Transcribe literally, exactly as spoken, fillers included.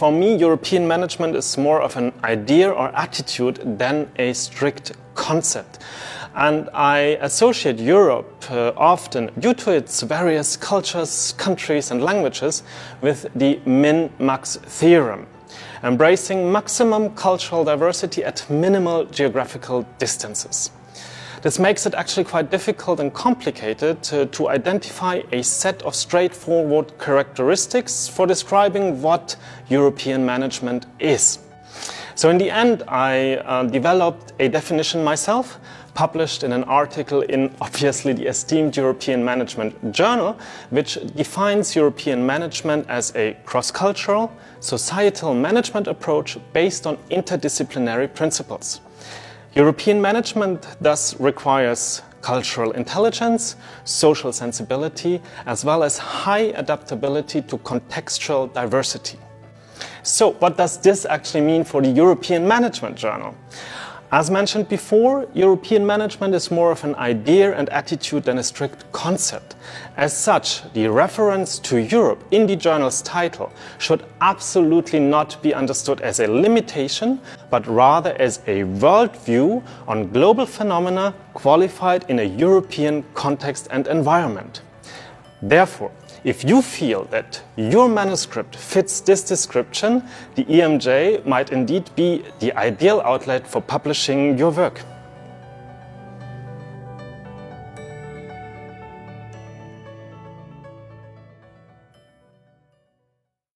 for me, European management is more of an idea or attitude than a strict concept. And I associate Europe uh, often, due to its various cultures, countries and languages, with the min-max theorem, embracing maximum cultural diversity at minimal geographical distances. This makes it actually quite difficult and complicated to, to identify a set of straightforward characteristics for describing what European management is. So in the end, I uh, developed a definition myself, published in an article in obviously the esteemed European Management Journal, which defines European management as a cross-cultural, societal management approach based on interdisciplinary principles. European management thus requires cultural intelligence, social sensibility, as well as high adaptability to contextual diversity. So, what does this actually mean for the European Management Journal? As mentioned before, European management is more of an idea and attitude than a strict concept. As such, the reference to Europe in the journal's title should absolutely not be understood as a limitation, but rather as a worldview on global phenomena qualified in a European context and environment. Therefore, if you feel that your manuscript fits this description, the E M J might indeed be the ideal outlet for publishing your work.